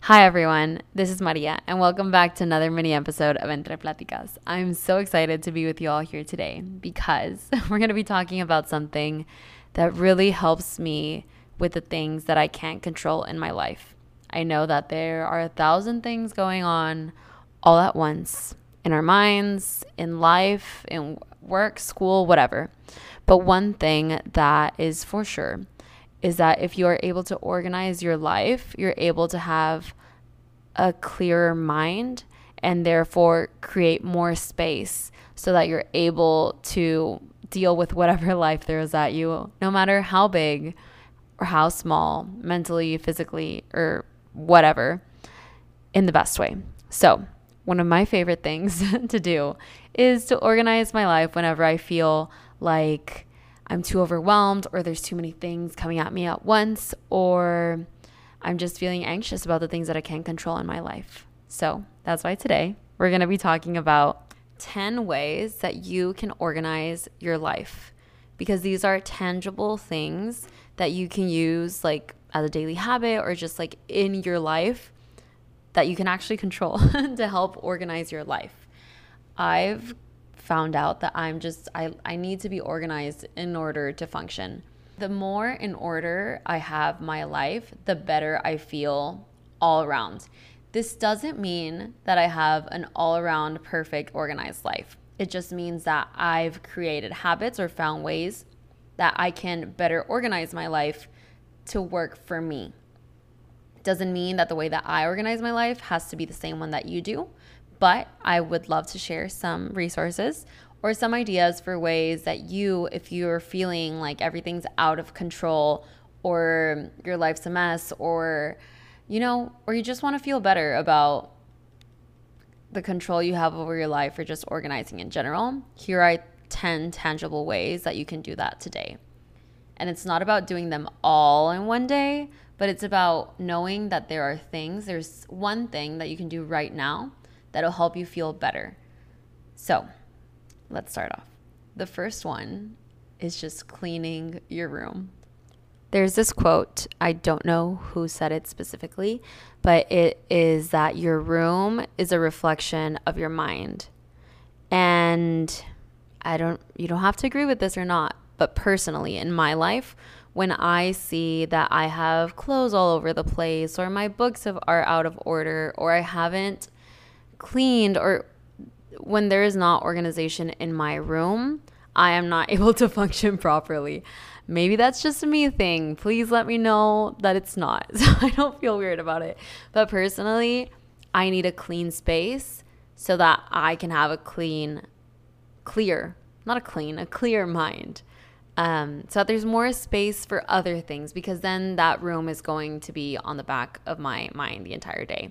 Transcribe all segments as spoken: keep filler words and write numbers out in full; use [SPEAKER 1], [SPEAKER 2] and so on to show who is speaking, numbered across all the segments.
[SPEAKER 1] Hi everyone, this is Maria, and welcome back to another mini episode of Entre Platicas. I'm so excited to be with you all here today because we're going to be talking about something that really helps me with the things that I can't control in my life. I know that there are a thousand things going on all at once in our minds, in life, in work, school, whatever. But one thing that is for sure is that if you are able to organize your life, you're able to have a clearer mind and therefore create more space so that you're able to deal with whatever life throws at you, no matter how big or how small, mentally, physically, or whatever, in the best way. So, one of my favorite things to do is to organize my life whenever I feel like I'm too overwhelmed or there's too many things coming at me at once, or I'm just feeling anxious about the things that I can't control in my life. So that's why today we're going to be talking about ten ways that you can organize your life, because these are tangible things that you can use like as a daily habit or just like in your life that you can actually control to help organize your life. I've found out that I'm just, I, I need to be organized in order to function. The more in order I have my life, the better I feel all around. This doesn't mean that I have an all around perfect organized life. It just means that I've created habits or found ways that I can better organize my life to work for me. Doesn't mean that the way that I organize my life has to be the same one that you do. But I would love to share some resources or some ideas for ways that you, if you're feeling like everything's out of control or your life's a mess, or, you know, or you just want to feel better about the control you have over your life or just organizing in general, here are ten tangible ways that you can do that today. And it's not about doing them all in one day, but it's about knowing that there are things, there's one thing that you can do right now that'll help you feel better. So let's start off. The first one is just cleaning your room. There's this quote, I don't know who said it specifically, but it is that your room is a reflection of your mind. And I don't, you don't have to agree with this or not, but personally in my life, when I see that I have clothes all over the place, or my books have, are out of order, or I haven't cleaned, or when there is not organization in my room, I am not able to function properly. Maybe that's just a me thing. Please let me know that it's not, so I don't feel weird about it. But personally, I need a clean space so that I can have a clean, clear, not a clean, a clear mind. Um, so that there's more space for other things, because then that room is going to be on the back of my mind the entire day.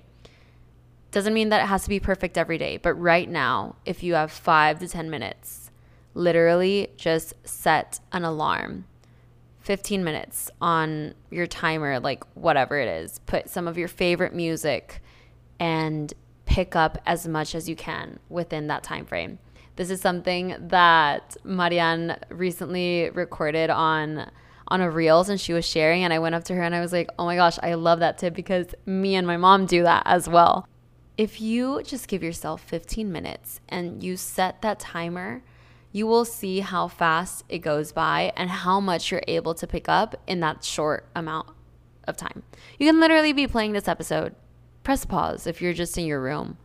[SPEAKER 1] Doesn't mean that it has to be perfect every day, but right now, if you have five to ten minutes, literally just set an alarm, fifteen minutes on your timer, like whatever it is. Put some of your favorite music and pick up as much as you can within that time frame. This is something that Marianne recently recorded on on a Reels, and she was sharing, and I went up to her and I was like, oh my gosh, I love that tip, because me and my mom do that as well. If you just give yourself fifteen minutes and you set that timer, you will see how fast it goes by and how much you're able to pick up in that short amount of time. You can literally be playing this episode, press pause if you're just in your room,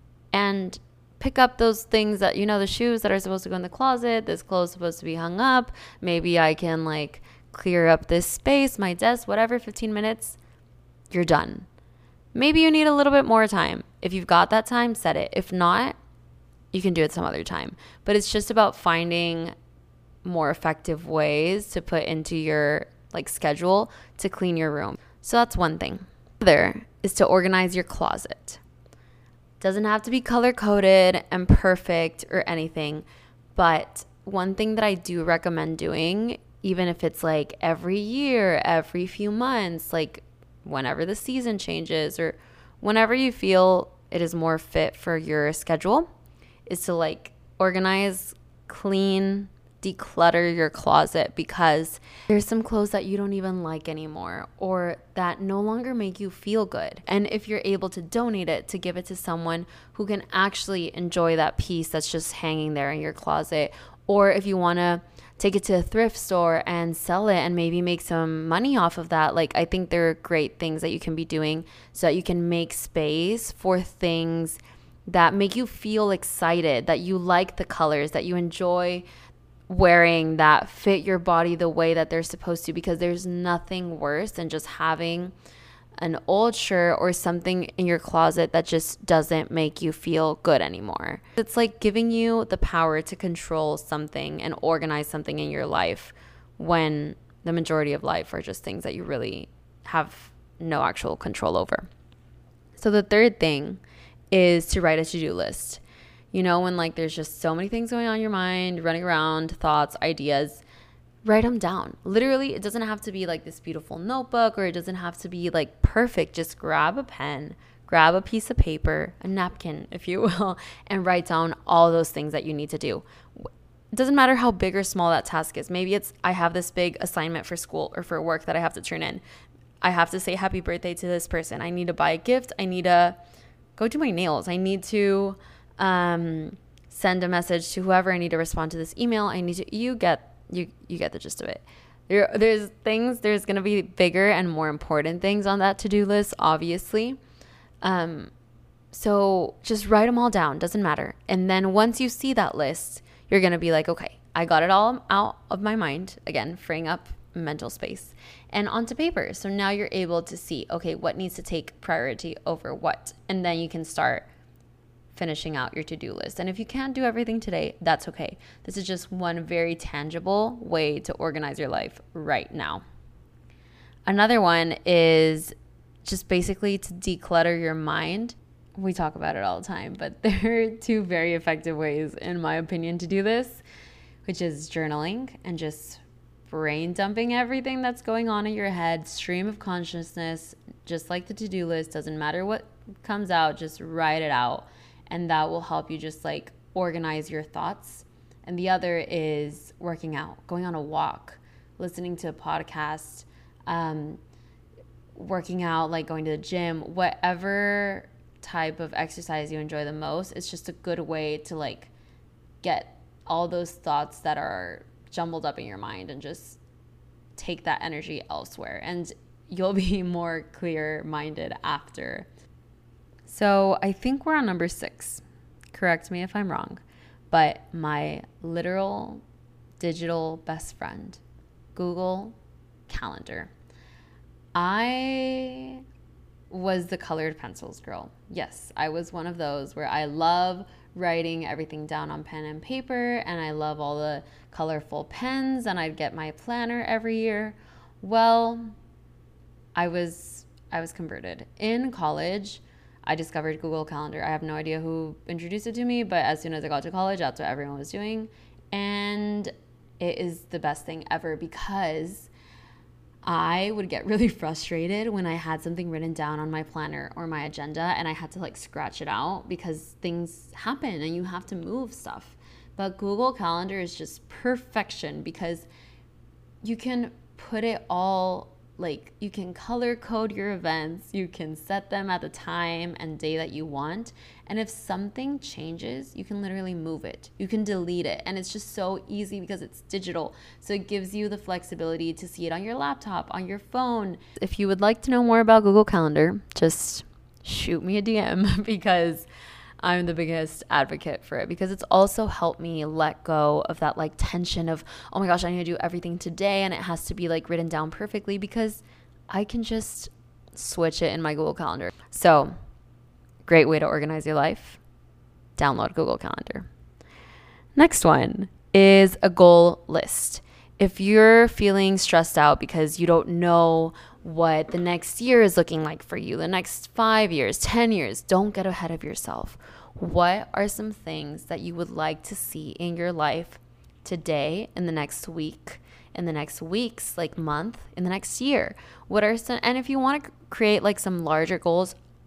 [SPEAKER 1] and pick up those things that, you know, the shoes that are supposed to go in the closet, this clothes supposed to be hung up. Maybe I can like clear up this space, my desk, whatever, fifteen minutes, you're done. Maybe you need a little bit more time. If you've got that time, set it. If not, you can do it some other time. But it's just about finding more effective ways to put into your like schedule to clean your room. So that's one thing. Other is to organize your closet. Doesn't have to be color coded and perfect or anything, but one thing that I do recommend doing, even if it's like every year, every few months, like whenever the season changes or whenever you feel it is more fit for your schedule, is to like organize, clean declutter your closet because there's some clothes that you don't even like anymore or that no longer make you feel good. And if you're able to donate it, to give it to someone who can actually enjoy that piece that's just hanging there in your closet, or if you want to take it to a thrift store and sell it and maybe make some money off of that, like I think there are great things that you can be doing so that you can make space for things that make you feel excited, that you like the colors, that you enjoy wearing, that fit your body the way that they're supposed to, because there's nothing worse than just having an old shirt or something in your closet that just doesn't make you feel good anymore. It's like giving you the power to control something and organize something in your life when the majority of life are just things that you really have no actual control over. So the third thing is to write a to-do list. You know, when like there's just so many things going on in your mind, running around, thoughts, ideas, write them down. Literally, it doesn't have to be like this beautiful notebook, or it doesn't have to be like perfect. Just grab a pen, grab a piece of paper, a napkin, if you will, and write down all those things that you need to do. It doesn't matter how big or small that task is. Maybe it's, I have this big assignment for school or for work that I have to turn in. I have to say happy birthday to this person. I need to buy a gift. I need to go do my nails. I need to um, send a message to whoever. I need to respond to this email. I need to, you get, you, you get the gist of it. There, there's things, there's going to be bigger and more important things on that to-do list, obviously. Um, so just write them all down. Doesn't matter. And then once you see that list, you're going to be like, okay, I got it all out of my mind. Again, freeing up mental space and onto paper. So now you're able to see, okay, what needs to take priority over what? And then you can start finishing out your to-do list. And if you can't do everything today, that's okay. This is just one very tangible way to organize your life right now. Another one is just basically to declutter your mind. We talk about it all the time, but there are two very effective ways, in my opinion, to do this, which is journaling and just brain dumping everything that's going on in your head, stream of consciousness, just like the to-do list. Doesn't matter what comes out, just write it out. And that will help you just like organize your thoughts. And the other is working out, going on a walk, listening to a podcast, um, working out, like going to the gym, whatever type of exercise you enjoy the most. It's just a good way to like get all those thoughts that are jumbled up in your mind and just take that energy elsewhere, and you'll be more clear-minded after. So I think we're on number six. Correct me if I'm wrong, but my literal digital best friend, Google Calendar. I was the colored pencils girl. Yes, I was one of those where I love writing everything down on pen and paper, and I love all the colorful pens, and I'd get my planner every year. Well, I was I was converted. In college, I discovered Google Calendar. I have no idea who introduced it to me, but as soon as I got to college, that's what everyone was doing. And it is the best thing ever, because I would get really frustrated when I had something written down on my planner or my agenda and I had to like scratch it out because things happen and you have to move stuff. But Google Calendar is just perfection because you can put it all, like you can color code your events, you can set them at the time and day that you want. And if something changes, you can literally move it. You can delete it. And it's just so easy because it's digital. So it gives you the flexibility to see it on your laptop, on your phone. If you would like to know more about Google Calendar, just shoot me a D M because I'm the biggest advocate for it, because it's also helped me let go of that like tension of, oh my gosh, I need to do everything today and it has to be like written down perfectly, because I can just switch it in my Google Calendar. So great way to organize your life. Download Google Calendar. Next one is a goal list. If you're feeling stressed out because you don't know what the next year is looking like for you, the next five years, ten years, don't get ahead of yourself. What are some things that you would like to see in your life today, in the next week, in the next weeks, like month, in the next year? What are some, and if you want to create like some larger goals,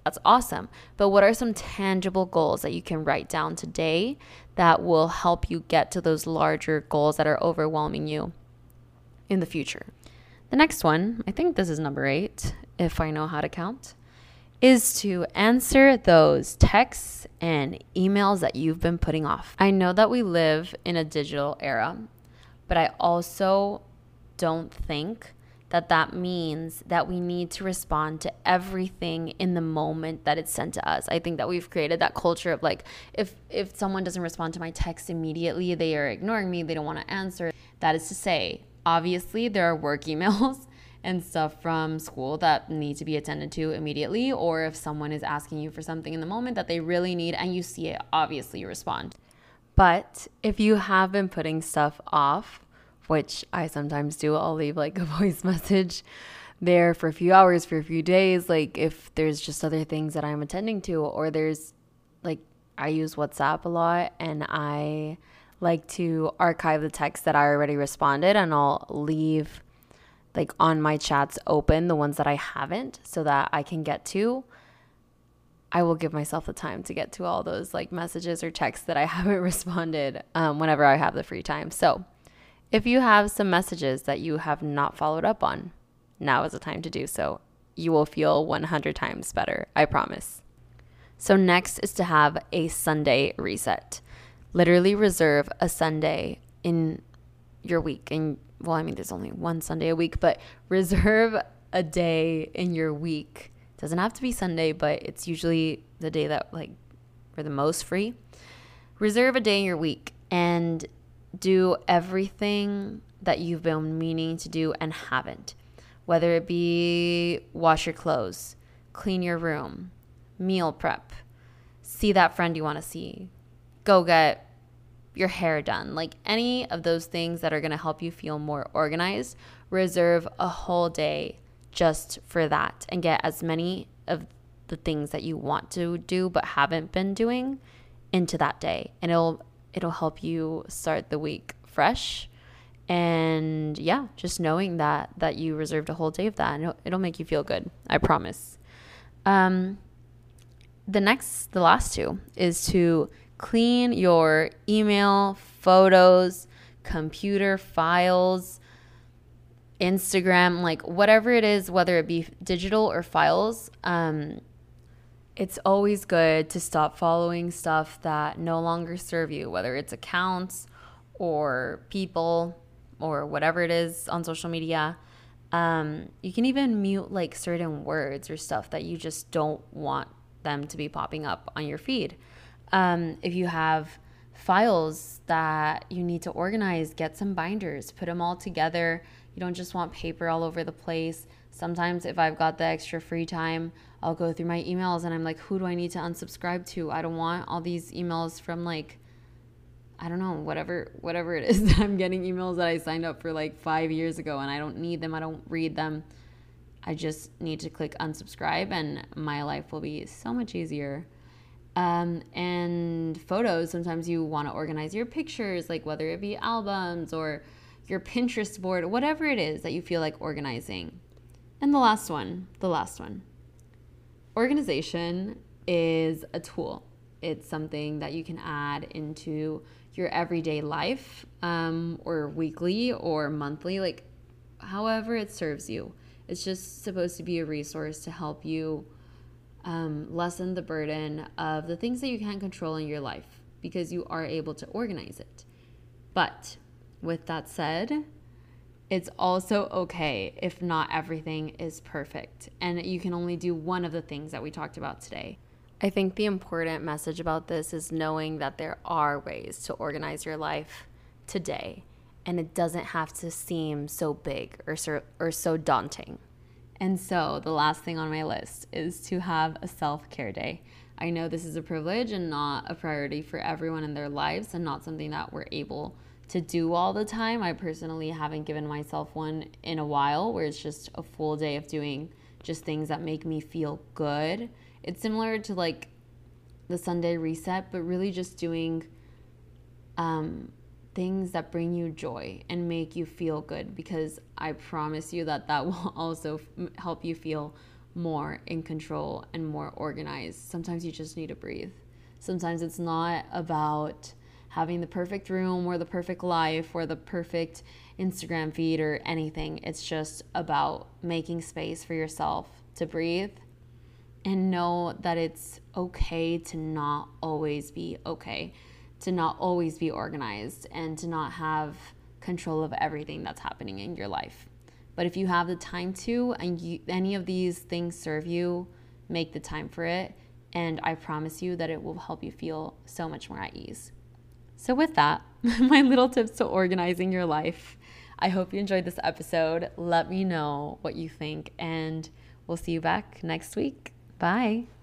[SPEAKER 1] That's awesome. But what are some tangible goals that you can write down today that will help you get to those larger goals that are overwhelming you in the future? The next one, I think this is number eight, if I know how to count, is to answer those texts and emails that you've been putting off. I know that we live in a digital era, but I also don't think that that means that we need to respond to everything in the moment that it's sent to us. I think that we've created that culture of like, if if someone doesn't respond to my text immediately, they are ignoring me, they don't want to answer. That is to say, obviously there are work emails and stuff from school that need to be attended to immediately, or if someone is asking you for something in the moment that they really need and you see it, obviously you respond. But if you have been putting stuff off, which I sometimes do, I'll leave like a voice message there for a few hours, for a few days, like if there's just other things that I'm attending to, or there's like, I use WhatsApp a lot and I like to archive the text that I already responded, and I'll leave like on my chats open the ones that I haven't so that I can get to. I will give myself the time to get to all those like messages or texts that I haven't responded um, whenever I have the free time. So if you have some messages that you have not followed up on, now is the time to do so. You will feel one hundred times better, I promise. So next is to have a Sunday reset. Literally reserve a Sunday in your week. And well, I mean, there's only one Sunday a week, but reserve a day in your week. It doesn't have to be Sunday, but it's usually the day that like we're the most free. Reserve a day in your week and do everything that you've been meaning to do and haven't. Whether it be wash your clothes, clean your room, meal prep, see that friend you want to see, go get your hair done. Like any of those things that are going to help you feel more organized, reserve a whole day just for that and get as many of the things that you want to do but haven't been doing into that day. And it'll it'll help you start the week fresh. And yeah, just knowing that that you reserved a whole day of that, and it'll, it'll make you feel good. I promise. Um, the next, the last two is to clean your email, photos, computer files, Instagram, like whatever it is, whether it be digital or files. Um, it's always good to stop following stuff that no longer serve you, whether it's accounts or people or whatever it is on social media. Um, you can even mute like certain words or stuff that you just don't want them to be popping up on your feed. Um, if you have files that you need to organize, get some binders, put them all together. You don't just want paper all over the place. Sometimes if I've got the extra free time, I'll go through my emails and I'm like, who do I need to unsubscribe to? I don't want all these emails from like, I don't know, whatever whatever it is that I'm getting emails that I signed up for like five years ago and I don't need them. I don't read them. I just need to click unsubscribe and my life will be so much easier. Um, and photos, sometimes you want to organize your pictures, like whether it be albums or your Pinterest board, whatever it is that you feel like organizing. And the last one, the last one. Organization is a tool. It's something that you can add into your everyday life, um, or weekly or monthly, like however it serves you. It's just supposed to be a resource to help you um, lessen the burden of the things that you can't control in your life because you are able to organize it. But with that said, it's also okay if not everything is perfect and you can only do one of the things that we talked about today. I think the important message about this is knowing that there are ways to organize your life today, and it doesn't have to seem so big or so, or so daunting. And so the last thing on my list is to have a self-care day. I know this is a privilege and not a priority for everyone in their lives and not something that we're able to do all the time. I personally haven't given myself one in a while where it's just a full day of doing just things that make me feel good. It's similar to like the Sunday reset, but really just doing um, things that bring you joy and make you feel good, because I promise you that that will also f- help you feel more in control and more organized. Sometimes you just need to breathe. Sometimes it's not about having the perfect room or the perfect life or the perfect Instagram feed or anything. It's just about making space for yourself to breathe and know that it's okay to not always be okay, to not always be organized, and to not have control of everything that's happening in your life. But if you have the time to, and you, any of these things serve you, make the time for it. And I promise you that it will help you feel so much more at ease. So with that, my little tips to organizing your life. I hope you enjoyed this episode. Let me know what you think, and we'll see you back next week. Bye.